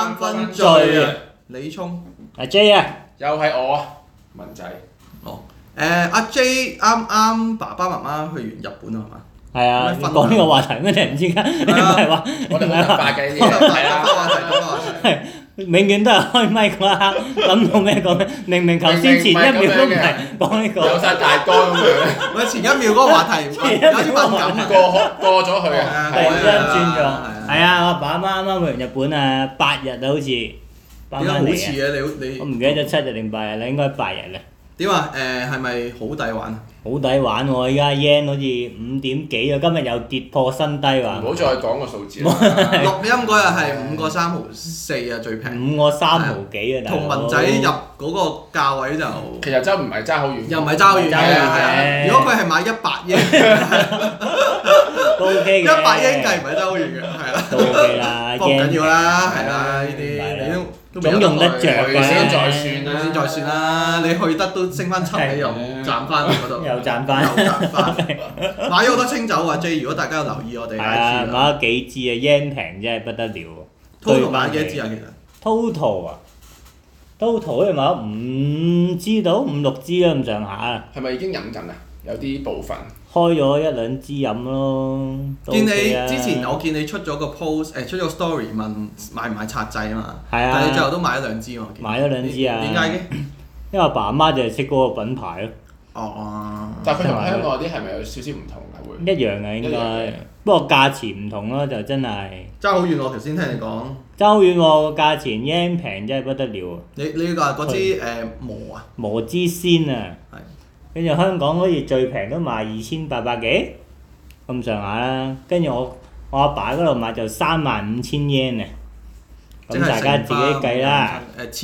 三分醉啊！李聰， 阿 J 啊， 又係我啊，文仔。 阿 J 啱爸爸媽媽去完日本啊，係嘛？ 係啊， 有咩分享講呢個話題咩？突然之間，你唔係話我哋好突發嘅呢啲嘢，係啊。 永遠都係開咪嗰一刻諗到咩講咩，明明頭先前一秒都唔係講呢個， 有晒大綱咁樣， 我前一秒嗰個話題有啲敏感啊， 過咗去啊， 突然之間轉咗。 係係啊，我阿爸阿媽啱啱去完日本啊，8日啊好似，翻點解好返嚟似嘅你？ 我唔記得咗7日定8日啦，應該8日啦。 點啊？係咪好抵玩啊？ 好抵玩喎！依家 yen 好似5點幾啊，今日又跌破新低喎。 唔好再講個數字啦。 錄音嗰日係5個3毫4啊，最平。 5個3毫幾啊，大佬。 同文仔入嗰個價位就其實真唔係爭好遠。 又唔係爭好遠嘅，如果佢係買100英， 都 OK 嘅。 100英計唔係爭好遠嘅，係啦。 都 OK 啦， 不過唔緊要啦，係啦，呢啲你都總用得着嘅。 先再算啦， 先再算啦。你去得都升翻7，你又賺翻嗰度。 又賺翻。 買咗好多清酒啊 J， 如果大家有留意我哋 IG 係啊，買咗幾支啊 yen 平真係不得了喎。 total 買幾多支啊？其實 total 啊，total 好似買咗5支到5、6支啦咁上下啊。 係咪已經飲緊啊？有啲部分。 開咗1、2支飲咯。 見你之前我見你出咗個 post， 出咗個 story 問買唔買拆仔啊嘛。 係啊。 但係你最後都買咗2支喎。 買咗2支啊。 點解嘅？ 因為阿爸阿媽就係識嗰個品牌咯。 哦。 但係佢同香港嗰啲係咪有少少唔同㗎會？ 一樣嘅應該，不過價錢唔同咯，就真係。 爭好遠喎！頭先聽你講。 爭好遠喎，個價錢 yen 平真係不得了啊！ 你話嗰支磨啊？ 磨之仙啊！ 係。 跟住香港好似最平都賣2800幾咁上下啦，跟住我阿爸嗰度買就35000 yen 啊！咁大家自己計啦。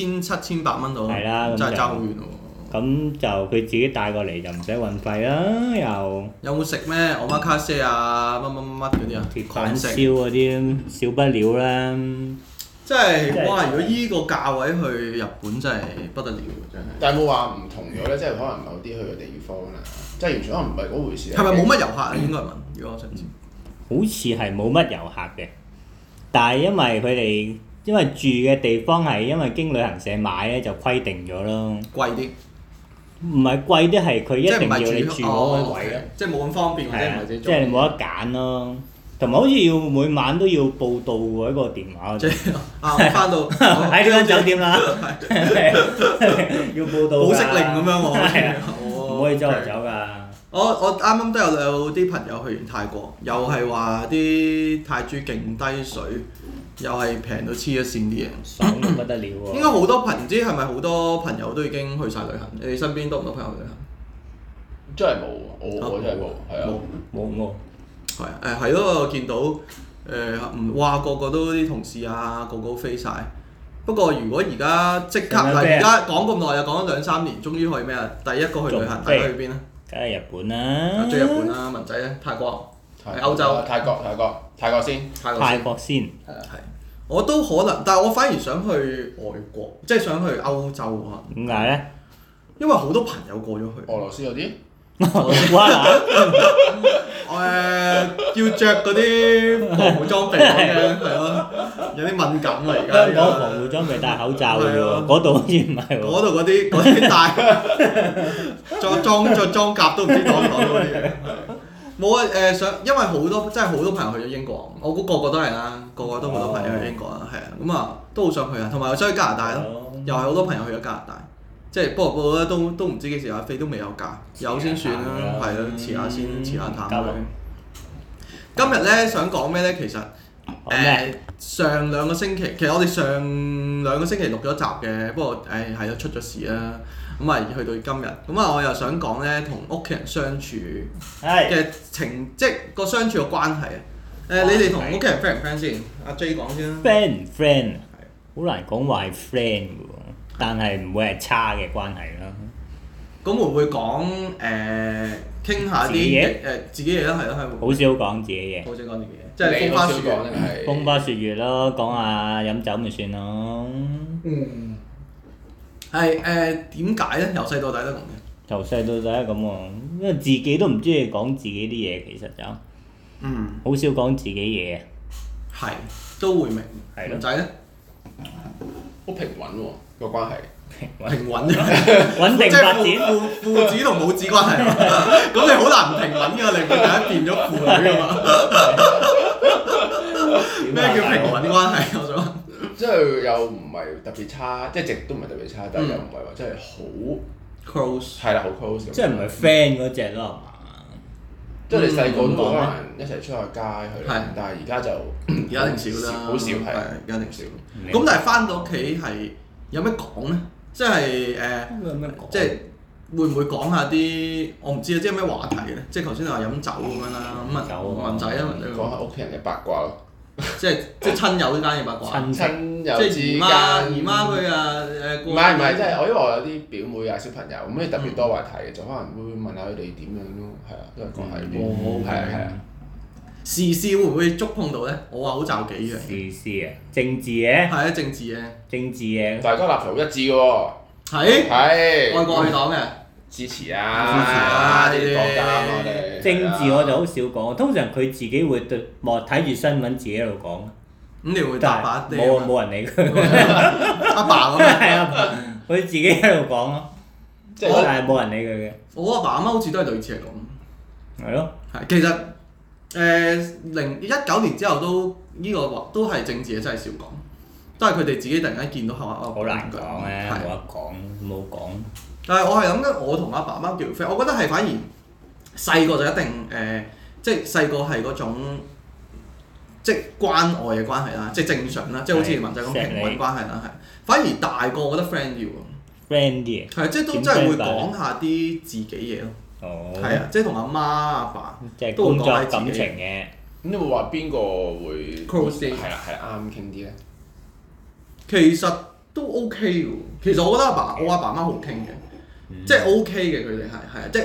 1700蚊到。 係啦，咁真係爭好遠喎。 咁就佢自己帶過嚟就唔使運費啦，又。 有冇食咩omakase啊？乜嗰啲啊？ 鐵板燒嗰啲少不了啦。 即係哇！如果依個價位去日本真係不得了喎，真係。 但係有冇話唔同咗咧？即係可能某啲去嘅地方啦，即係完全可能唔係嗰回事。 係咪冇乜遊客啊？應該問，如果我想知。 好似係冇乜遊客嘅，但係因為住嘅地方係因為經旅行社買咧就規定咗咯。 貴啲。 唔係貴啲係佢一定要你住嗰個位咯。 即係冇咁方便或者唔係自己即係你冇得揀咯。同埋好似要每晚都要報到喎，一個電話。 即係翻到喺呢間酒店啦，要報到。 保釋令咁樣喎。 係啊，唔可以周圍走㗎。 我啱啱都有啲朋友去完泰國，又係話啲泰銖勁低水，又係平到黐咗線啲嘢。 爽到不得了喎！ 應該好多唔知係咪好多朋友都已經去晒旅行？你哋身邊多唔多朋友去旅行？ 真係冇喎，我真係冇，係啊。 冇。 係啊，係咯，我見到哇個個都啲同事啊，個個都飛晒。不過如果而家即刻嗱，而家講咁耐又講咗2-3年，終於去咩啊？第一個去旅行，大家去邊啊？ 梗係日本啦。 最日本啦，文仔咧，泰國，歐洲。 泰國先。 泰國先。 係啊係。我都可能，但係我反而想去外國，即係想去歐洲啊。 點解咧？ 因為好多朋友過咗去。 俄羅斯嗰啲。 要着嗰啲防護裝備嘅，係咯，有啲敏感啊而家。 香港防護裝備戴口罩嘅喎，嗰度好似唔係喎。 嗰度嗰啲戴，着裝甲都唔知擋唔擋到嗰啲。冇啊因為真係好多朋友去咗英國，我估個個都係啦，個個都好多朋友去英國啦，係啊，咁啊都好想去啊，同埋我想去加拿大咯，又係好多朋友去咗加拿大。即係不過咧都唔知幾時有飛，都未有假，有先算啦，係咯，遲下先，遲下探佢。今日咧想講咩咧？其實上2個星期，其實我哋上2個星期錄咗集嘅，不過係咯出咗事啦，咁啊去到今日，咁啊我又想講咧同屋企人相處嘅即係個相處嘅關係啊。你哋同屋企人 friend 唔 friend 先？阿 J 講先啦。 friend 唔 friend 好難講話係 friend 嘅喎。但係唔會係差嘅關係啦。 咁會唔會講傾下啲自己嘢啦？係咯，係。 好少講自己嘢。 好少講自己嘢，即係風花雪月。 風花雪月咯，講下飲酒咪算咯。 係點解咧？由細到大都咁嘅。 由細到大都咁喎，因為自己都唔中意講自己啲嘢，其實就。好少講自己嘢。 係，都會明。 係咯。 文仔咧？ 好平穩喎個關係。 平穩啫， 穩定即係發展。 父子同母子關係啊，咁你好難唔平穩㗎，你唔會突然間變咗父女㗎嘛？咩叫平穩關係？我想問。 即係又唔係特別差，即係直都唔係特別差，但係又唔係話真係好 close。 係啦，好 close 咁。 即係唔係 friend 嗰只咯，係嘛？ 即係你細個都可能一齊出下街去， 係但係而家就而家一定少啦， 好少係， 而家一定少。咁但係翻到屋企係有咩講咧？即係有咩講？ 即係會唔會講下啲我唔知啊，即係咩話題咧？即係頭先你話飲酒咁樣啦，咁啊文仔啊， 講下屋企人嘅八卦咯。 即係親友之間嘅八卦。 親友之間。 即係姨媽佢啊誒。 唔係，即係因為我有啲表妹啊小朋友，咁你特別多話題嘅，就可能會問下佢哋點樣咯，係啊，都係講下呢啲，係啊。 時事會唔會觸碰到咧？我話好罩幾樣。 時事啊，政治嘅。 係啊，政治嘅。 政治嘅。 大家立場好一致嘅喎。 係。 係。 愛國愛黨嘅。 支持啊！呢啲國家啊，我哋。 政治我就好少講，通常佢自己會對望睇住新聞自己喺度講。 咁你會答把啲？ 冇人理佢。 阿爸咁樣。 係啊，佢自己喺度講咯。即係但係冇人理佢嘅。 我阿爸阿媽好似都係類似係咁。 係咯。 係，其實2019年之後都係政治嘅，真係少講，都係佢哋自己突然間見到好難講咧，冇得講，冇講。 但係我係諗緊，我同阿爸阿媽叫 friend，我覺得係反而細個就一定即係細個係嗰種即係關愛嘅關係啦，即係正常啦，即係好似文仔咁平穩關係啦，係。反而大個我覺得 friend 啲喎。 friend 啲係，即係都真係會講下啲自己嘢咯。 哦。 係啊，即係同阿媽阿爸即係工作感情嘅。 咁你會話邊個會 close 啲？ 係啦，啱傾啲咧。 其實都 OK 喎。其實我覺得我阿爸媽好傾嘅。即係 OK 嘅，佢哋係啊，即係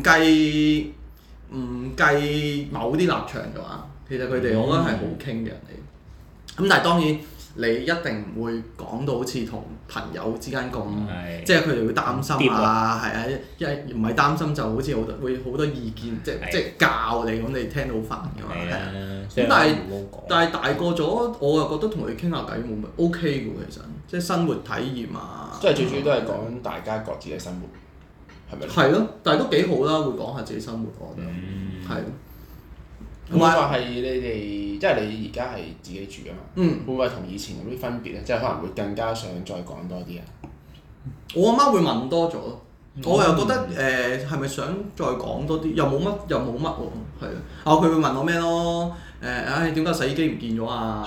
唔計某啲立場嘅話，其實佢哋我覺得係好傾嘅人嚟。咁但係當然你一定唔會講到好似同朋友之間咁，即係佢哋會擔心啊，係啊，因為唔係擔心就好似會好多意見，即係教你咁，你聽到好煩㗎嘛，係啊。咁但係大個咗，我又覺得同佢傾下偈冇乜 OK 嘅喎，其實即係生活體驗啊。 即係最主要都係講大家各自嘅生活，係咪？ 係咯，但係都幾好啦，會講下自己生活，我覺得係。 會唔會話係你哋，即係你而家係自己住㗎嘛？會唔會同以前有啲分別咧？即係可能會更加想再講多啲啊？ 我阿媽會問多咗，我又覺得係咪想再講多啲？又冇乜喎，係啊。佢會問我咩咯？點解洗衣機唔見咗啊？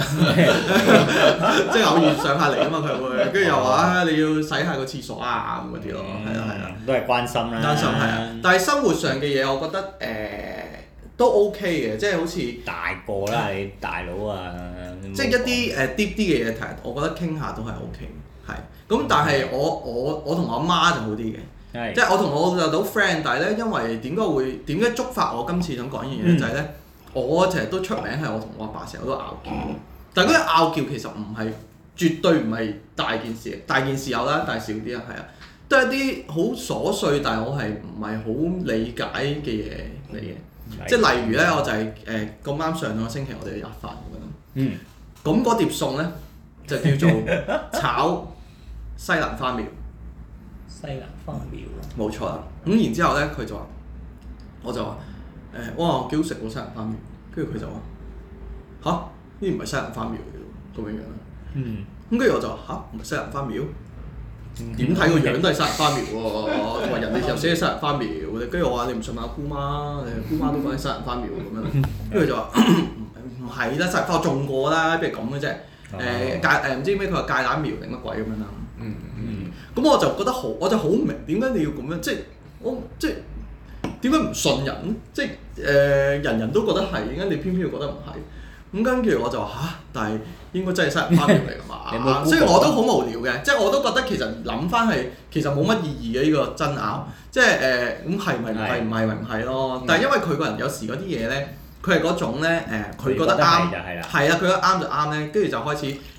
即係偶然上下嚟啊嘛，佢會，跟住又話你要洗下個廁所啊咁嗰啲咯，係啊。 都係關心啦。 關心係啊，但係生活上嘅嘢，我覺得都 OK 嘅，即係好似大個啦，你大佬啊。 即係一啲deep 啲嘅嘢題，我覺得傾下都係 OK 嘅，係。咁但係我同我阿媽就好啲嘅，即係我同我老豆都 friend，但係咧因為點解觸發我今次想講呢樣嘢就係咧，我成日都出名係我同我阿爸成日都拗撬，但係嗰啲拗撬其實唔係絕對唔係大件事，大件事有啦，但係少啲啊，係啊，都係一啲好瑣碎，但係我係唔係好理解嘅嘢嚟嘅。即係例如咧，我就係咁啱上個星期我哋去食飯咁樣。咁嗰碟餸咧就叫做炒西蘭花苗。 西蘭花苗。冇錯啦。咁然之後咧，佢就話，我就話哇幾好食喎西蘭花苗。跟住佢就話吓？呢唔係西蘭花苗嚟喎，咁樣樣啦。咁跟住我就話吓？唔係西蘭花苗？點睇個樣都係西蘭花苗喎，話人哋又寫西蘭花苗，跟住我話你唔信阿姑媽，姑媽都講緊西蘭花苗咁樣，跟住就話唔係啦，西蘭花我種過啦，不如咁嘅啫，唔知咩佢話芥蘭苗定乜鬼咁樣啦，咁我就覺得我就好唔明點解你要咁樣，即係點解唔信人咧？即係人人都覺得係，點解你偏偏要覺得唔係？咁跟住我就話嚇，但係應該真係西蘭花苗嚟㗎嘛？所以我都好無聊嘅，即係我都覺得其實諗翻係其實冇乜意義嘅呢個爭拗，即係咁係咪唔係唔係咪唔係咯？但係因為佢個人有時嗰啲嘢咧，佢係嗰種咧佢覺得啱，係啦，佢覺得啱就啱咧，跟住就開始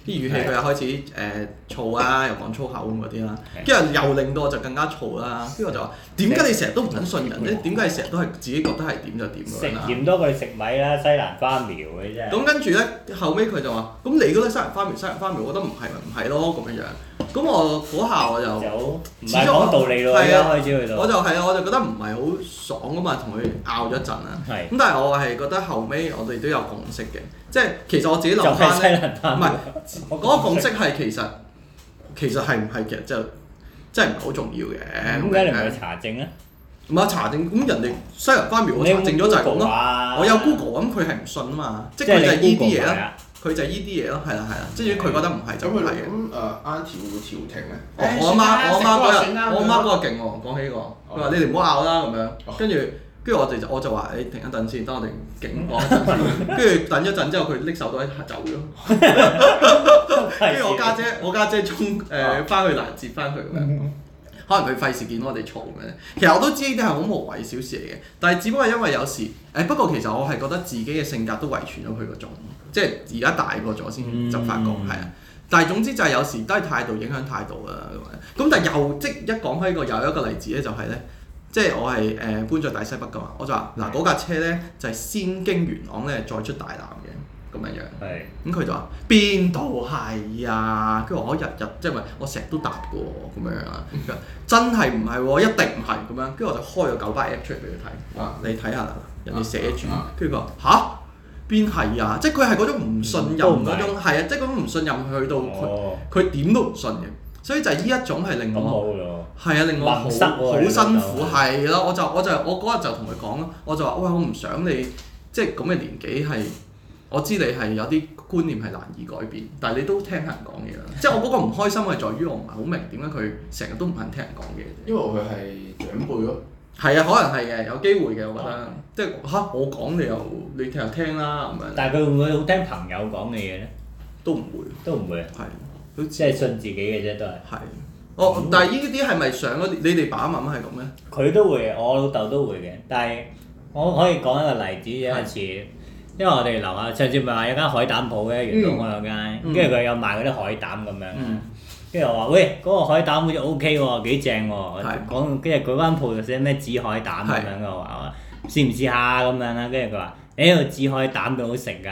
啲語氣佢又開始燥啦，又講粗口咁嗰啲啦，跟住又令到我就更加燥啦。跟住我就話：點解你成日都唔肯信人咧？點解你成日都係自己覺得係點就點㗎？ 食鹽多過你食米啦，西蘭花苗嘅啫。 咁跟住咧，後尾佢就話：咁你覺得西蘭花苗，我覺得唔係咪唔係咯咁樣樣。咁我嗰下我就唔係講道理咯，開始去到。 我就覺得唔係好爽㗎嘛，同佢拗咗一陣啦。咁但係我係覺得後尾我哋都有共識嘅，即係其實我自己諗翻咧，唔係嗰個共識係其實係唔係其實就真係唔係好重要嘅。 點解你唔去查證咧？ 唔係查證，咁人哋西蘭花苗我查證咗就係咁咯。我有 Google 咁，佢係唔信啊嘛，即係佢就係依啲嘢啦。佢就係依啲嘢咯，係啦，即係佢覺得唔係就唔係嘅。 咁Auntie 會唔會調停咧？ 我阿媽嗰個勁喎，講起呢個，佢話你哋唔好拗啦咁樣，跟住我就話你停一陣先，等我哋勁講一陣先，跟住等一陣之後佢拎手袋走咗，跟住我家姐衝翻去攔截翻佢咁樣。可能佢費事見到我哋嘈嘅，其實我都知呢啲係好無謂小事嚟嘅，但係只不過因為有時不過其實我係覺得自己嘅性格都遺傳咗佢嗰種，即係而家大個咗先就發覺係啊。但係總之就係有時都係態度影響態度啦咁樣。咁但係又即一講開個又一個例子咧，就係咧，即係我係搬咗大西北㗎嘛，我就話嗱嗰架車咧就係先經元朗咧再出大南嘅。咁樣樣，咁佢就話邊度係啊？跟住我日即係咪我成日都搭嘅喎，咁樣啊？真係唔係喎，一定唔係咁樣。跟住我就開咗九巴 app 出嚟俾佢睇，你睇下啦，人哋寫住，跟住佢話嚇邊係啊？即係佢係嗰種唔信任嗰種，係啊，即係嗰種唔信任去到佢點都唔信嘅。所以就係呢一種係令我係啊，令我好辛苦係咯。我嗰日就同佢講咯，我就話喂，我唔想你即係咁嘅年紀係。我知你係有啲觀念係難以改變，但係你都聽人講嘢啦。即係我嗰個唔開心係在於我唔係好明點解佢成日都唔肯聽人講嘢。 因為佢係長輩咯。係啊，可能係嘅，有機會嘅，我覺得。即係嚇我講你又聽啦咁樣。 但係佢會唔會好聽朋友講嘅嘢咧？ 都唔會。都唔會。係。 即係信自己嘅啫，都係。 係。但係呢啲係咪上嗰啲？你哋爸爸媽媽係咁咩？ 佢都會，我老豆都會嘅。但係我可以講一個例子，有一次。因為我哋樓下上次咪話有間海膽鋪嘅，元朗嗰間，跟住佢有賣嗰啲海膽咁樣，跟住我話喂，嗰個海膽好似 OK 喎，幾正喎，講跟住嗰間鋪就寫咩紫海膽咁樣嘅，我話試唔試下咁樣啦，跟住佢話紫海膽咁好食㗎，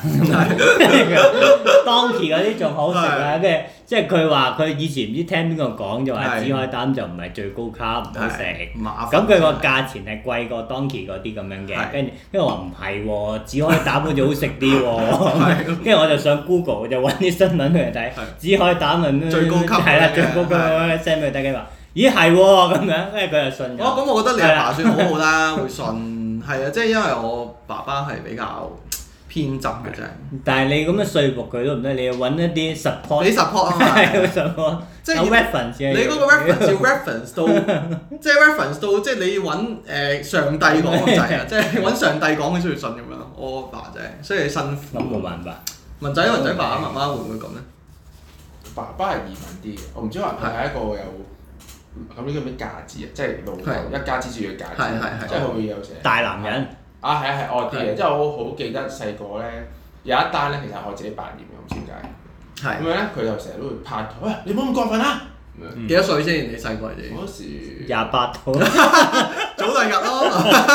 當期嗰啲仲好食啊，跟住即係佢話佢以前唔知聽邊個講就話紫海膽就唔係最高級，唔好食，咁佢個價錢係貴過當期嗰啲咁樣嘅，跟住我話唔係喎，紫海膽好似好食啲喎，跟住我就上 Google 就揾啲新聞俾佢睇，紫海膽係咩？ 最高級係啦，最高級 send 俾佢睇，佢話咦係喎咁樣，跟住佢就信咗。 咁我覺得你阿爸算好好啦，會信。係啊，即係因為我爸爸係比較偏執嘅啫。但係你咁樣說服佢都唔得，你要揾一啲 support。 你 support 啊嘛。係 support。 即係有 reference 嘅。 你嗰個 reference 要 reference 到，即係 reference 到，即係你要揾上帝講咁滯啊！即係揾上帝講佢先會信咁樣。我爸就係，所以辛苦。 咁冇辦法。 文仔爸爸媽媽會唔會咁咧？ 爸爸係嚴謹啲嘅，我唔知可能佢係一個有。咁呢個咩架子啊？即係老豆一家之主嘅架子，即係佢會有時大男人啊，係惡啲嘅，即係我好記得細個咧有一單咧，其實我自己扮驗嘅，唔知點解。咁樣咧，佢就成日都會拍台，喂，你唔好咁過分啦！ 幾多歲先？你細個你？ 嗰時 28到， 早兩日咯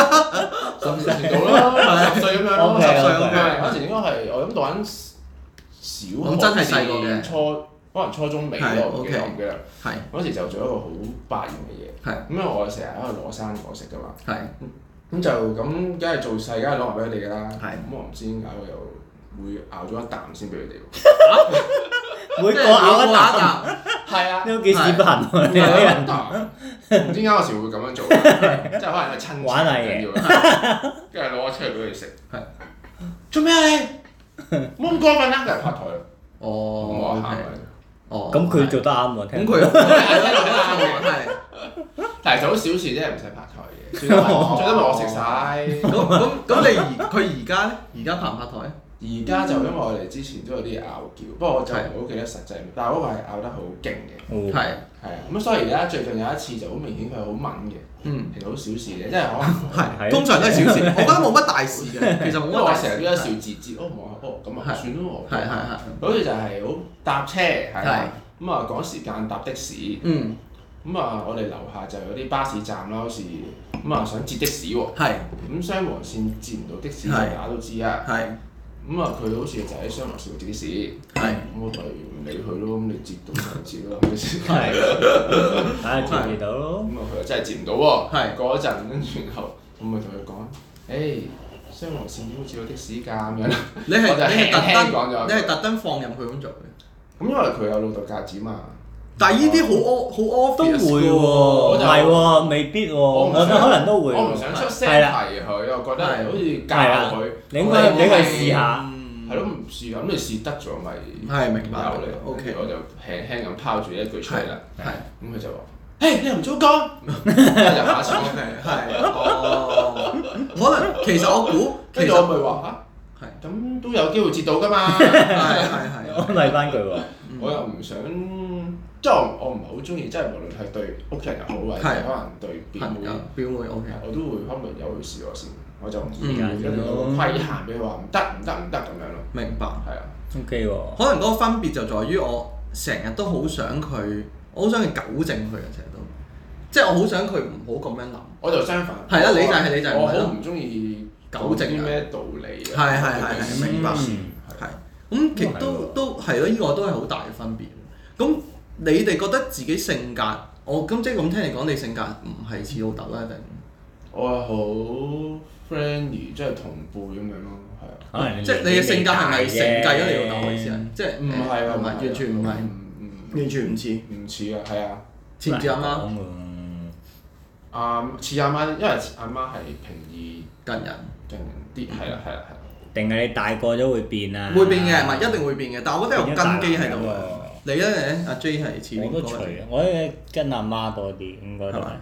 ，10歲到啦，10歲咁樣咯，10歲咁樣。嗰時應該係我諗讀緊小學至可能初中尾咯，我唔記得。嗰時就做一個好百厭嘅嘢。咁因為我成日喺度攞生果食㗎嘛。咁就咁，梗係做細，梗係攞埋俾佢哋㗎啦。咁我唔知點解我又會咬咗一啖先俾佢哋喎。 每個咬一啖。 係啊。 都幾屎忽痕喎！ 咬一啖。唔知點解有時會咁樣做，即係可能係親情玩下嘢。 跟住攞出嚟俾佢哋食。做咩啊你？唔好咁過分啦！跟住拍台。 哦。 咁佢做得啱喎， 咁佢啱喎， 但係就好小事啫，唔使拍台嘅，最多咪我食晒。 咁佢而家咧？而家拍唔拍台？ 而家就因為我哋之前都有啲拗撬，不過我就唔好記得實際，但係嗰個係拗得好勁嘅。係啊，咁所以而家最近有一次就好明顯佢好敏嘅，其實好小事嘅，即係可能通常都係小事，我覺得冇乜大事嘅，其實冇乜大事。 因為我成日都一笑自節，咁啊算咯喎。好似就係好搭車係啦，咁啊趕時間搭的士。咁啊，我哋樓下就有啲巴士站啦，好似咁啊想截的士喎。咁雙黃線截唔到的士，大家都知啊。咁啊，佢好似就喺雙黃線度截的士。咁我咪唔理佢咯，咁你截到就截咯，係咪先？ 睇下截唔截到咯。 咁啊，佢又真係截唔到喎。過一陣，跟住然後我咪同佢講：誒，雙黃線點會截到的士㗎？咁樣。 你係特登放任佢咁做嘅。 咁因為佢有老豆格子嘛。 但係呢啲好 obvious 都會喎，唔係喎，未必喎，我覺得可能都會。 我唔想出聲提佢，我覺得好似教佢。 你應該俾佢試下。 係咯，唔試咁你試得咗咪？ 係明白。 有你 OK，我就輕輕咁拋住一句出嚟啦。咁佢就話： 誒，你又唔早講， 就下次。 可能其實我估， 跟住我咪話嚇，咁都有機會接到㗎嘛。 我咪翻句喎， 我又唔想。即係我唔係好中意，即係無論係對屋企人又好，或者可能對表妹 OK，我都會可能由佢試過先，我就唔會跟住規限俾佢話唔得咁樣咯。 明白。 係啊。 OK 喎。 可能嗰個分別就在於我成日都好想佢，我好想去糾正佢嘅成日都，即係我好想佢唔好咁樣諗。 我就相反。 係啊，你就係我好唔中意糾正啲咩道理啊。 係明白。係。咁其實都係咯，呢個都係好大嘅分別。咁你哋覺得自己性格，咁即係咁聽你講，你性格唔係似老豆啦，定？ 我係好 friendly，即係同輩咁樣咯，係啊。 即係你嘅性格係咪承繼咗你老豆嘅意思啊？即係唔係完全唔係，完全唔似。 唔似啊，係啊。 似唔似阿媽？ 似阿媽，因為阿媽係平易近人啲，係啦。 定係你大個咗會變啊？ 會變嘅，唔係一定會變嘅，但係我覺得有根基喺度嘅。你咧？阿 J 係似邊個？ 我都隨，我跟阿媽多啲，應該都係。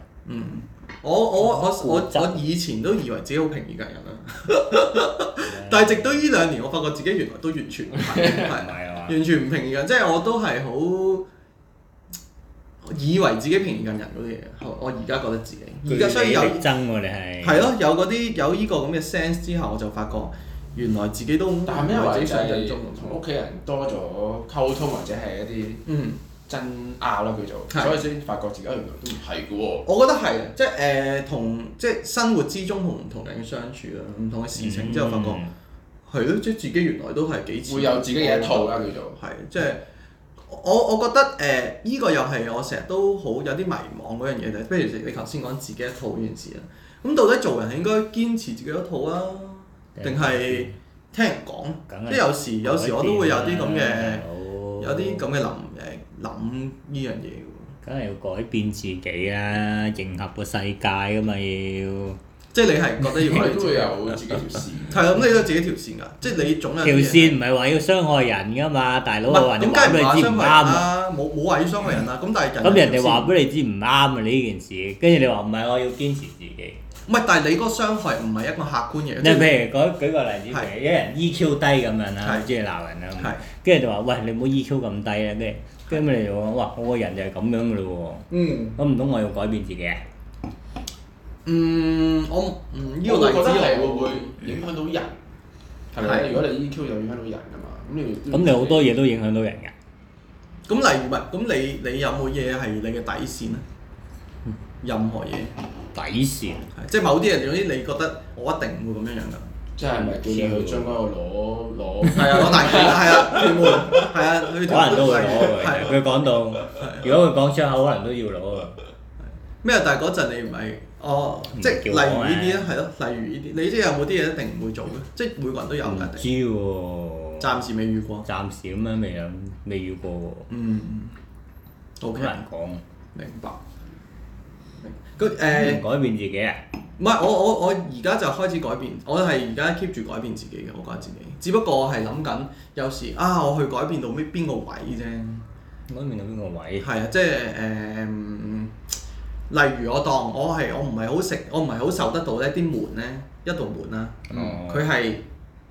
我以前都以為自己好平易近人啦，但係直到呢2年，我發覺自己原來都完全唔係，完全唔平易近人，即係我都係好以為自己平易近人嗰啲嘢。我而家覺得自己，而家所以有爭喎，你係。 係咯，有呢個咁嘅 sense 之後，我就發覺原來自己都唔係自己想像中同屋企人多咗溝通，或者係一啲爭拗啦叫做，所以先發覺自己原來都唔係嘅喎。 我覺得係即係即係生活之中同唔同人嘅相處啦，唔同嘅事情之後發覺係咯，即係自己原來都係幾似。 會有自己嘅一套啦叫做。 係即係我覺得呢個又係我成日都好有啲迷茫嗰樣嘢，就係譬如你頭先講自己一套呢件事啦。咁到底做人係應該堅持自己一套啊，定係聽人講？即係有時我都會有啲咁嘅諗呢樣嘢喎。 梗係要改變自己啦，迎合個世界噶嘛要。 即係你係覺得要都會有自己條線。 係啊，咁你都有自己條線㗎，即係你總有條線唔係話要傷害人㗎嘛，大佬話你話俾你知唔啱啊！冇話要傷害人啊，咁但係咁人哋話俾你知唔啱啊！你呢件事，跟住你話唔係，我要堅持自己。 唔係，但係你嗰個傷害唔係一個客觀嘢。 你譬如舉個例子，譬如一人 EQ 低咁樣啦，中意鬧人啦，跟住就話喂，你唔好 EQ 咁低啊！跟住你就話哇，我個人就係咁樣㗎咯喎。咁唔通我要改變自己啊？ 我呢個例子係會唔會影響到人？係咪？如果你 EQ 就影響到人㗎嘛， 咁你好多嘢都影響到人㗎。 咁例如咁你有冇嘢係你嘅底線咧？任何嘢。 底線。 即係某啲嘢，總之你覺得我一定唔會咁樣樣㗎。 即係咪叫你去將嗰個攞？ 係啊，攞大旗係啊，屯門係啊， 可能都會攞佢講到，如果佢講出口，可能都要攞啊。 咩？但係嗰陣你唔係即係例如呢啲咧，係咯，例如呢啲，你即係有冇啲嘢一定唔會做嘅？即係每個人都有㗎。唔知喎。 暫時未遇過。 暫時咁樣未遇過喎。 好難講。 明白。 改變自己啊？ 唔係，我而家就開始改變，我係而家 keep 住改變自己嘅，我覺得自己。只不過我係諗緊，有時我去改變到邊個位啫。 改變到邊個位？ 係啊，即係例如我當我唔係好受得到呢啲門咧，一道門啦，佢係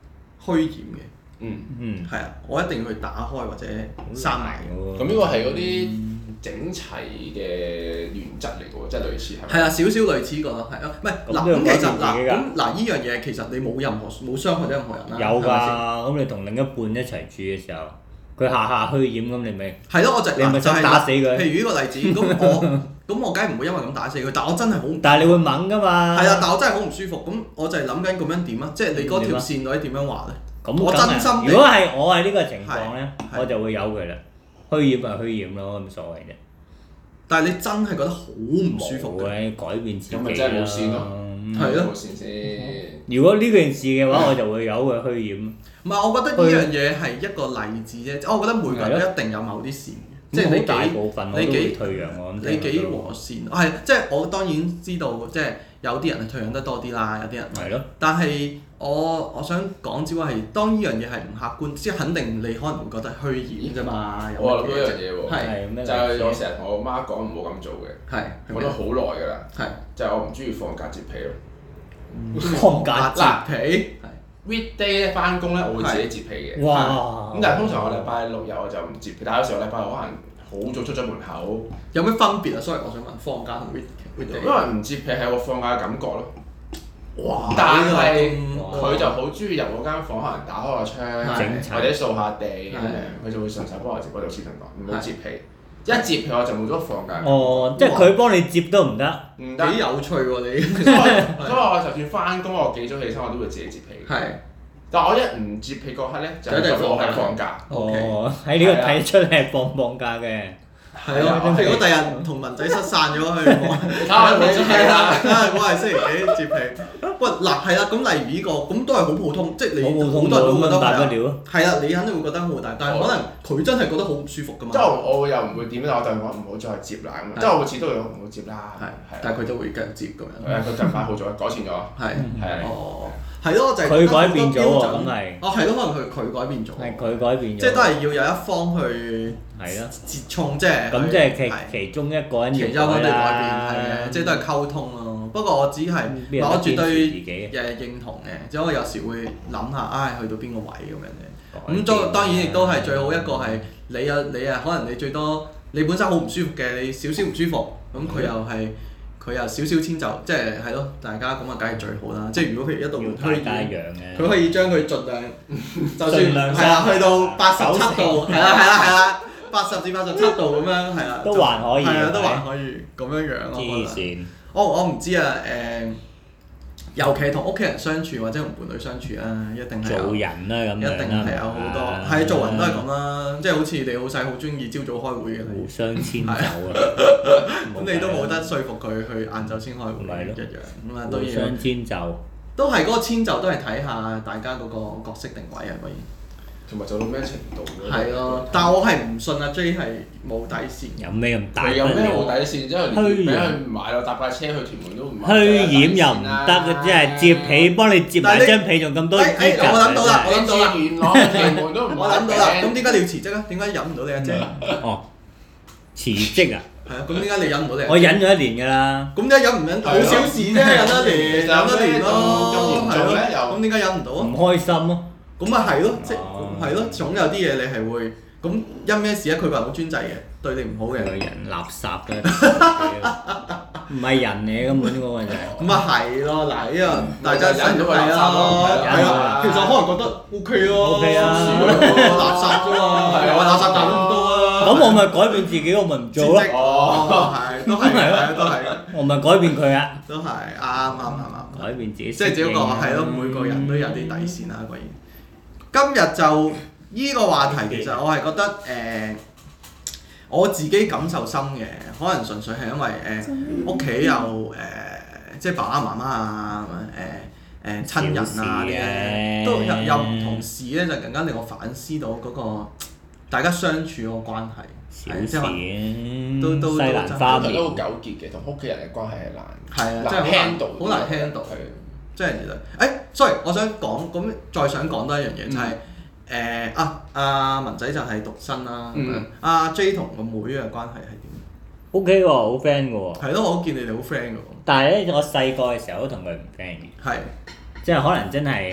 虛掩嘅。係啊，我一定要去打開或者閂埋。 咁呢個係嗰啲整齊嘅原則嚟嘅喎，即係類似係。 係啊，少少類似個係啊，唔係嗱咁其實嗱依樣嘢其實你冇傷害到任何人啦。 有㗎，咁你同另一半一齊住嘅時候，佢下虛掩咁，你咪係咯， 你咪想打死佢。 譬如呢個例子，咁我梗係唔會因為咁打死佢，但我真係好。 但係你會猛㗎嘛？ 係啊，但我真係好唔舒服，咁我就係諗緊咁樣點啊？即係你嗰條線到底點樣畫咧？ 我真心。如果係我係呢個情況咧，我就會由佢啦。虛掩咪虛掩咯，冇所謂啫。 但係你真係覺得好唔舒服嘅，改變自己啦。 咁咪真係冇線咯， 係咯。 冇線先。 如果呢件事嘅話，我就會由佢虛掩。 唔係，我覺得呢樣嘢係一個例子啫。我覺得每個人都一定有某啲線嘅，即係你大部分我都會退讓我。 你幾和善？係即係我當然知道，即係有啲人係退讓得多啲啦，有啲人。 係咯。 但係我想講只不過係當呢樣嘢係唔客觀，即係肯定你可能會覺得虛掩啫嘛。 我諗到一樣嘢喎， 係就係我成日同我媽講唔好咁做嘅，講咗好耐㗎啦。就係我唔中意放假摺被咯。 放假摺被。weekday 咧翻工咧，我會自己摺被嘅。 哇！ 咁但係通常我禮拜六日我就唔摺被，但係有時候禮拜六可能好早出咗門口。 有咩分別啊？sorry，我想問放假同 weekday。因為唔摺被係有個放假嘅感覺咯。 哇！ 但係佢就好中意入我間房，可能打開個窗，或者掃下地咁樣，佢就會順手幫我摺。我就先同講唔好摺被，一摺被我就冇咗放假。 哦，即係佢幫你摺都唔得。 唔得。 幾有趣喎你！ 所以我就算翻工，我幾早起身我都會自己摺被。 係。 但係我一唔摺被嗰刻咧，就我係放假。 哦，喺呢個睇出你係放假嘅。 係咯，如果第日同文仔失散咗去，係啦，我係星期幾摺被。喂嗱係啦，咁例如呢個咁都係好普通，即係你好多人都覺得係啊，你肯定會覺得好大，但係可能佢真係覺得好唔舒服㗎嘛。 即係我又唔會點，但我就講唔好再摺啦咁。即係我每次都會講唔好摺啦。係。 但係佢都會繼續摺咁樣。 佢近排好咗，改善咗。 係。哦。係咯，就係佢改變咗喎，咁係。 哦，係咯，可能佢改變咗。 係佢改變咗。 即係都係要有一方去折衝，即係。 咁即係其中一個人要改啦。 係嘅，即係都係溝通咯。不過我只係，我絕對認同嘅，只不過有時會諗下，唉，去到邊個位咁樣嘅。咁當然亦都係最好一個係你啊，可能你最多你本身好唔舒服嘅，你少少唔舒服，咁佢又少少遷就，即係咯，大家咁啊，梗係最好啦。即係如果譬如一度虛掩，佢可以將佢盡量，就算係啦，去到87度，係啦，80至87度咁樣，係啦， 都還可以， 係啊，都還可以咁樣樣咯。 黐線！ 我唔知啊，尤其係同屋企人相處或者同伴侶相處啦，一定係做人啦咁樣， 一定係有好多係做人都係咁啦，即係好似你老細好中意朝早開會嘅， 互相遷就啊， 咁你都冇得說服佢去晏晝先開會一樣，咁啊都要互相遷就， 都係嗰個遷就都係睇下大家嗰個角色定位啊，可以。 同埋做到咩程度咧？ 係咯，但係我係唔信阿 J 係冇底線。 有咩咁大？ 佢有咩冇底線？即係連俾佢買咯，搭架車去屯門都唔買。 虛掩又唔得，即係摺被幫你摺埋張被，仲咁多資格。 我諗到啦， 我諗到啦，咁點解你要辭職啊？點解忍唔到你阿姐？ 哦，辭職啊？ 係啊，咁點解你忍唔到你？ 我忍咗1年㗎啦。 咁點解忍唔忍？好小事啫，忍一年咯，係咯。咁點解忍唔到啊？ 唔開心咯。 咁咪係咯，即係咯，總有啲嘢你係會咁因咩事啊？佢話好專制嘅，對你唔好嘅。 人垃圾嘅，唔係人嚟根本嗰個就係。 咁啊係咯，嗱呢個大家忍咗佢垃圾咯，係啊，其實可能覺得 OK 咯 ，OK 啊， 垃圾啫嘛，係啊，垃圾賺咁多啊。 咁我咪改變自己，我咪唔做咯。 哦，係，都係，都係。我咪改變佢啊。 都係啱。 改變自己。 即係只不過係咯，每個人都有啲底線啦，果然。今日就依個話題，其實我係覺得我自己感受深嘅，可能純粹係因為屋企有即係爸爸媽媽啊，親人啊啲都有唔同事咧，就更加令我反思到嗰個大家相處嗰個關係。 小事都西蘭花面都好糾結嘅，同屋企人嘅關係係難。 係啊，真係好難 handle。即係其實，sorry，我想講咁，再想講多一樣嘢就係阿文仔就係獨生啦，咁樣阿 J 同個妹嘅關係係點 ？OK 喎，好 friend 嘅喎。 係咯，我見你哋好 friend 嘅喎。 但係咧，我細個嘅時候都同佢唔 friend 嘅。 係。 即係可能真係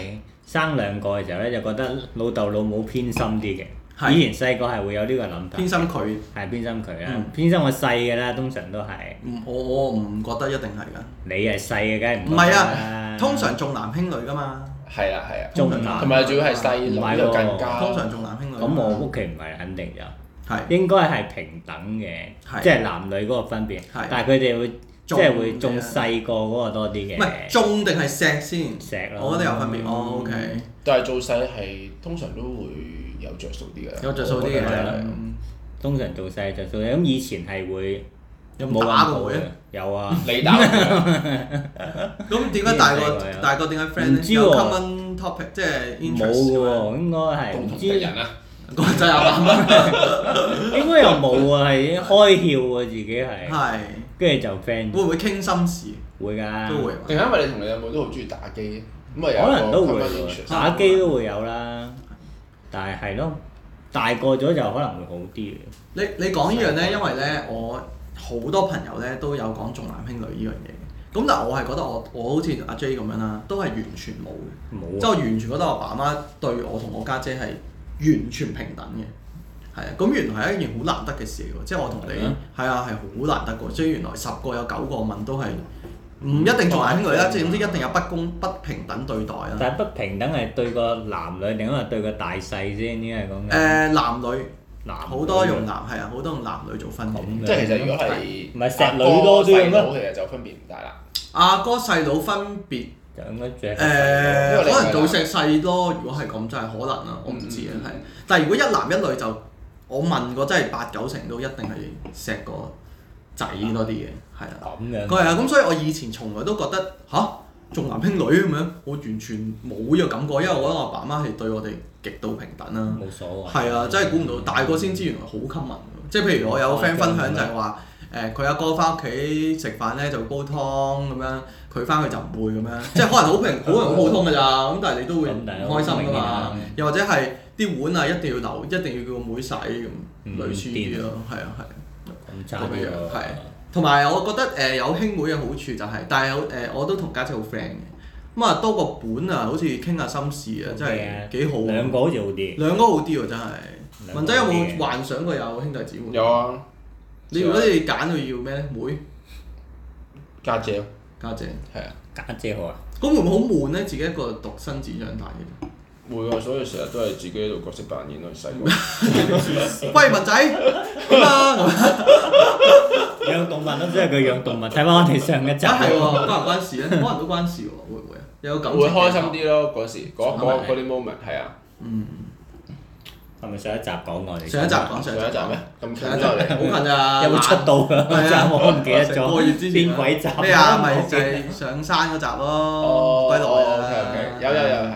生2個嘅時候咧，就覺得老豆老母偏心啲嘅。以前細個係會有呢個諗法。 偏心佢。 係偏心佢啦，偏心個細嘅啦，通常都係。 我唔覺得一定係㗎。 你係細嘅，梗係唔。 唔係啊，通常重男輕女㗎嘛。 係啊係啊。 重男。 同埋仲要係細女就更加。 通常重男輕女。 咁我屋企唔係肯定就。係。應該係平等嘅，即係男女嗰個分別。但係佢哋會。即係會重細個嗰個多啲嘅。 唔係重定係錫先？ 錫咯。 我覺得有分別。OK。 但係做細係通常都會有着數啲嘅。 有着數啲嘅。 通常做細着數嘅，咁以前係會冇打過嘅。 有啊。 你打過。 咁點解大個點解 friend 咧？有 common topic 即係 interest 冇喎，應該係唔知人啊。 個仔阿爸媽。 應該又冇啊，係開竅喎自己係。係。跟住就 friend。 會唔會傾心事？ 會㗎。 都會。 定係因為你同你阿妹都好中意打機，咁啊有可能都會打機都會有啦，但係咯，大個咗就可能會好啲嘅。 你講呢樣咧，因為咧我好多朋友咧都有講重男輕女呢樣嘢嘅，咁但係我係覺得我好似阿 J 咁樣啦，都係完全冇嘅。冇。即係我完全覺得我爸媽對我同我家姐係完全平等嘅。係啊，咁原來係一件好難得嘅事喎，即係我同你係啊係好難得嘅，所以原來10個有9個問都係唔一定重男輕女啦，即係總之一定有不平等對待啦。 但係不平等係對個男女定係對個大細先？應該係講緊。男女。好多用男係啊，好多用男女做分別。 即係其實如果係唔係錫女多啲咁咯，其實就分別唔大啦。 阿哥細佬分別。 就應該可能做錫細咯，如果係咁真係可能啦，我唔知啊，係。但係如果一男一女就。我問過真係8、9成都一定係錫個仔多啲嘅，係啊。咁樣。係啊，咁所以我以前從來都覺得重男輕女咁樣，我完全冇呢個感覺，因為我覺得我爸媽係對我哋極度平等啦。冇所謂。係啊，真係估唔到，大個先知原來好 common。即係譬如我有個 friend 分享就係話，佢阿哥翻屋企食飯咧就煲湯咁樣，佢翻去就唔會咁樣，即係可能好普通㗎咋，咁但係你都會唔開心㗎嘛。又或者係。啲碗啊一定要留，一定要叫個妹洗咁，類似啲咯，係啊係。咁樣係，同埋我覺得有兄妹嘅好處就係，但係我都同家姐好 friend 嘅，咁啊多個本啊，好似傾下心事啊，真係幾好。 兩個好似好啲。 兩個好啲喎真係。文仔有冇幻想過有兄弟姊妹？ 有啊。 你如果你揀佢要咩咧？妹。 家姐。 家姐。係啊。 家姐好啊。 咁會唔會好悶咧？自己一個獨生子長大嘅。 會啊，所以成日都係自己喺度角色扮演咯，細個。 喂，文仔點啊？ 養動物咯，即係佢養動物。睇翻我哋上一集。 係喎，關唔關事咧？可能都關事喎，會唔會啊？有感情。 會開心啲咯，嗰時嗰啲 moment 係啊。 係咪上一集講我哋？ 上一集講上一集咩？咁上一集嚟，好近咋？ 有冇出到㗎？ 係啊， 我唔記得咗。 個月之前邊鬼集？ 咩啊？咪就係上山嗰集咯，歸來啊！ 有係。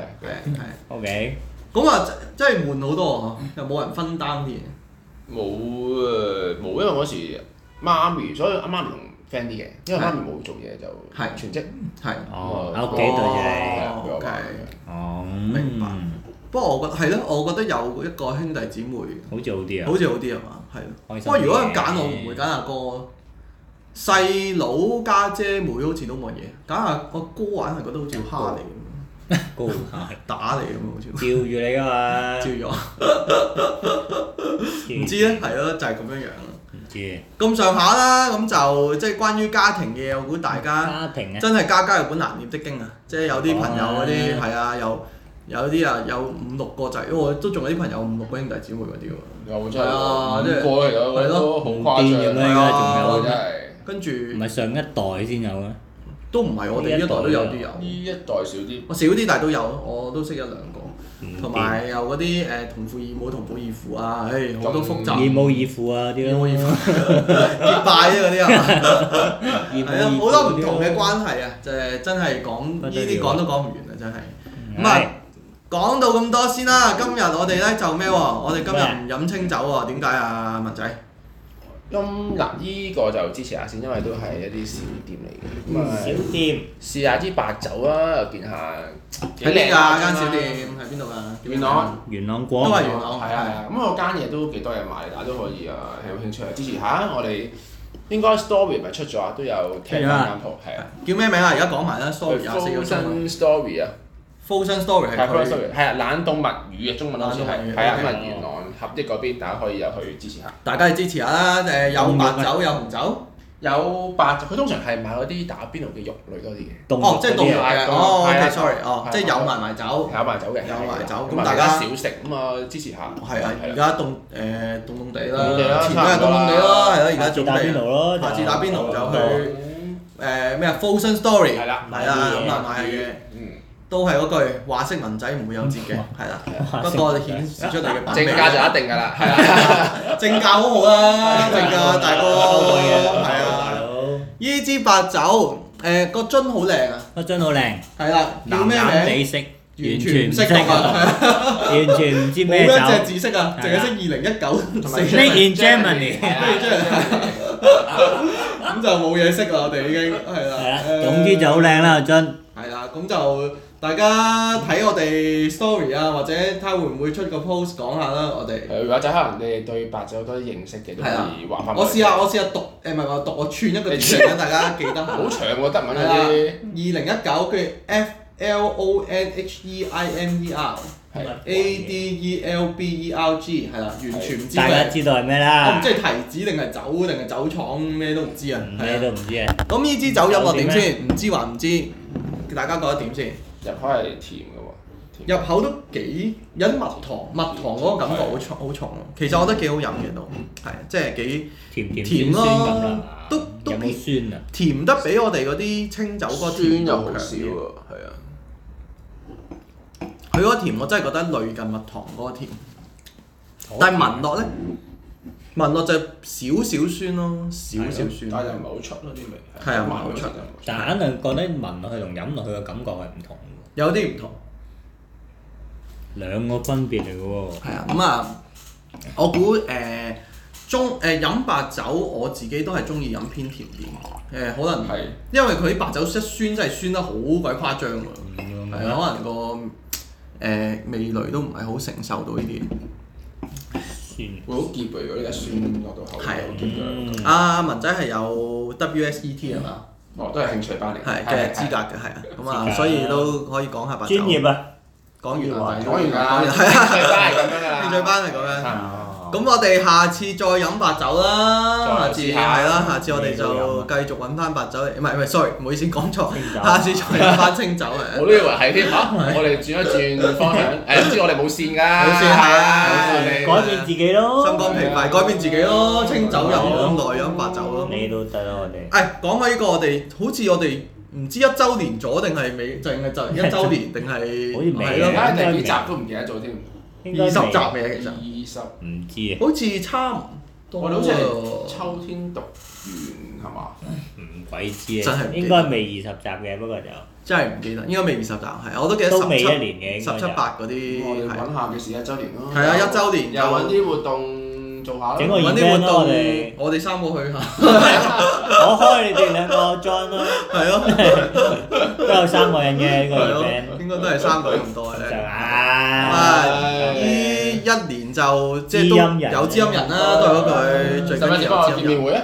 OK。 咁啊，真係悶好多喎，又冇人分擔啲嘢。 冇，因為嗰時媽咪，所以阿媽咪同 friend 啲嘅，因為媽咪冇做嘢就全職。係。 喺屋企對住你。 OK。明白。不過我覺得係咯，我覺得有一個兄弟姊妹好似好啲啊。 好似好啲係嘛？係。不過如果揀我唔會揀阿哥，細佬家姐妹好似都冇嘢，揀阿哥玩係覺得好似蝦你咁。 高打你咁好似。 照住你㗎嘛。 照咗。唔知咧，係咯，就係咁樣樣咯。 唔知。咁上下啦，咁就即係關於家庭嘅，我估大家真係家家有本難念的經啊！即係有啲朋友嗰啲係啊，有啲啊有5、6個仔，我都仲有啲朋友5、6個兄弟姊妹嗰啲喎。 有真係5個嚟㗎，都好誇張啊！仲有真係。 跟住。唔係上一代先有咩？ 都唔係，我哋呢一代都有啲有。 呢一代少啲。 我少啲，但係都有，我都識1、2個。同埋有嗰啲同父異母、同母異父啊，好多複雜。 異母異父啊啲咯。 結拜啫嗰啲啊。係啊，好多唔同嘅關係啊，就係真係講呢啲講都講唔完啊，真係。咁啊，講到咁多先啦。今日我哋咧就咩喎？我哋今日唔飲清酒喎，點解啊，文仔？ 嗱，依個就支持下先，因為都係一啲小店嚟嘅。 小店。 試下支白酒啦，又見下。 喺邊㗎間小店？喺邊度㗎？ 元朗。 元朗廣。 都係元朗。 係啊，咁我間嘢都幾多嘢買，大家都可以啊，有興趣支持下。我哋應該 story 咪出咗啊，都有聽翻間鋪，係啊。 叫咩名啊？而家講埋啦，story 24個鐘。 Frozen Story 啊。 Frozen Story 係佢。 係啊，冷凍物語嘅中文好似係，係啊，咁啊元朗合益嗰邊，大家可以入去支持下。 大家去支持下啦，有白酒有紅酒。 有白酒，佢通常係買嗰啲打邊爐嘅肉類多啲嘅。 哦，即係凍肉嘅。OK，sorry，即係有埋酒。 有埋酒嘅。 有埋酒， 咁大家少食咁啊，支持下。 係啊，而家凍地啦，前兩日凍地咯，係咯，而家準備。 打邊爐咯。 下次打邊爐就去咩啊 Frozen Story。 係啦。 係啦，咁啊買下嘢。都係嗰句話式文仔唔會有折嘅，係啦。不過我哋顯示出嚟嘅正價就一定㗎啦，係啊。 正價好好啦，正價大哥，係啊。呢支白酒個樽好靚啊！ 個樽好靚。係啦，叫咩名？ 地色， 完全唔識啊！ 完全唔知咩酒。 冇一隻字識啊，淨係識2019同埋 Made in Germany。 咁就冇嘢識啦，我哋已經係啦。 係啦，總之就好靚啦個樽。 係啦，咁就大家睇我哋 story 啊，或者睇下會唔會出個 post 講下啦，我哋。 或者可能你哋對白酒有多啲認識嘅，都可以話翻。 我試下讀，唔係話讀，我串一個字嚟，大家記得。 好長喎，德文嗰啲。 2019跟住 FLONHEIMER，ADELBERG 係啦，完全唔知。 大家知道係咩啦？ 我唔知係提子定係酒定係酒廠，咩都唔知啊。 咩都唔知啊。 咁呢支酒飲落點先？唔知還唔知？大家覺得點先？ 入口係甜嘅喎。 入口都幾有啲蜜糖嗰個感覺好重喎。其實我覺得幾好飲嘅都，係即係幾甜咯，都有冇酸啊？ 甜得比我哋嗰啲清酒嗰個甜又好少喎，係啊。佢嗰個甜我真係覺得類近蜜糖嗰個甜，但係聞落咧，聞落就少少酸咯，少少酸。 但係又唔係好出咯啲味。 係啊，唔係好出。 但係肯定覺得聞落去同飲落去嘅感覺係唔同嘅。 有啲唔同。 兩個分別嚟嘅喎。 係啊，咁啊，我估飲白酒我自己都係中意飲偏甜啲。可能係因為佢啲白酒一酸真係酸得好鬼誇張㗎。係啊，可能個味蕾都唔係好承受到呢啲。 酸。會好澀喎！如果呢個酸落到口。係好澀㗎。 阿文仔係有 WSET 係嘛？ 哦，都係興趣班嚟。 係嘅資格嘅係啊，咁啊，所以都可以講下白酒。 專業啊！ 講完啦， 講完啦， 係啊， 興趣班係咁樣㗎啦。 興趣班係咁樣。咁我哋下次再飲白酒啦，下次係啦，下次我哋就繼續揾翻白酒嚟，唔係 sorry，唔好意思講錯，下次再飲翻清酒係。 我都以為係添嚇，我哋轉一轉方向，唔知我哋冇線㗎。 冇線係啊， 改變自己咯。 心肝脾肺，改變自己咯，清酒飲咁耐飲白酒咯。 你都得啦，我哋。 講開呢個，我哋好似我哋唔知1週年咗定係未，淨係就1週年定係。 好似未咯， 第幾集都唔記得咗添。 20集未其實。 唔知啊。 好似差唔多。 我哋好似係秋天讀完係嘛？ 唔鬼知啊！ 真係應該未20集嘅，不過就。 真係唔記得，應該未20集，係我都記得都未1年嘅 17、18嗰啲。 我哋揾下嘅是1週年咯。 係啊，1週年又揾啲活動做下咯。 整個 event 咯，我哋3個去下。 我開你哋2個 join 咯。係咯。都有3個人嘅呢個 event。 應該都係3個咁多嘅。呢1年就即係都有知音人啦，都係嗰句最緊要有知音人。 見面會啊！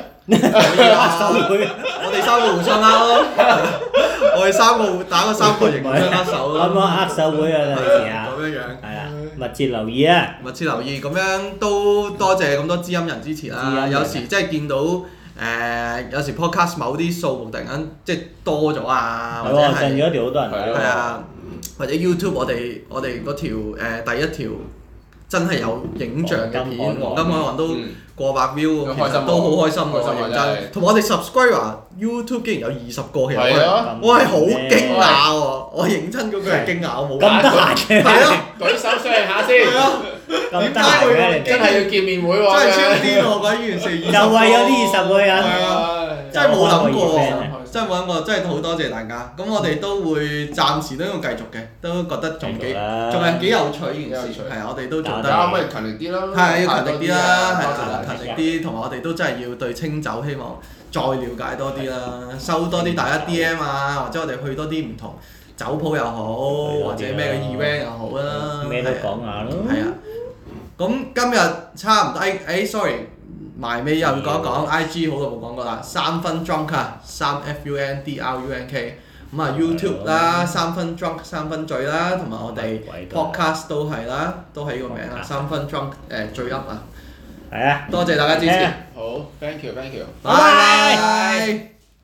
我哋3個互相咯，我哋3個打個3個形互相握手咯。 啱啱握手會啊，到時啊。 咁樣。 係啦，密切留意啊！ 密切留意，咁樣都多謝咁多知音人支持啦。有時即係見到有時 podcast 某啲數目突然間即係多咗啊，或者係近咗條好多人睇。 係啊，或者 YouTube 我哋嗰條第一條真係有影像嘅片，黃金海岸都過百 view，其實都好開心喎，認真。同埋我哋 subscriber YouTube 竟然有20個，其實我係好驚訝喎，我認真嗰句係驚訝，我冇咁得閒嘅。 係咯， 舉手商量下先。 咁得閒嘅， 真係要見面會喎。 真係超癲喎！嗰件事就為咗呢20個人。 係啊，真係冇諗過，真係冇諗過，真係好多謝大家。咁我哋都會暫時都要繼續嘅，都覺得仲係幾有趣呢件事。係啊，我哋都做得。 可唔可以勤力啲咯？ 係要勤力啲啦，係勤力啲，同埋我哋都真係要對清酒希望再了解多啲啦，收多啲大家 DM 啊，或者我哋去多啲唔同酒鋪又好，或者咩嘅 event 又好啦。 咩都講下咯。係啊， 咁今日差唔多，sorry， 埋尾又講一講 IG 好耐冇講過啦，3分 drunk 啊，3 FUNDRUNK， 咁啊 YouTube 啦，3分 drunk 3分醉啦，同埋我哋 podcast 都係啦，都係呢個名啦，3分 drunk 醉 up 啊。係啊，多謝大家支持。 好 ，thank you， 拜拜。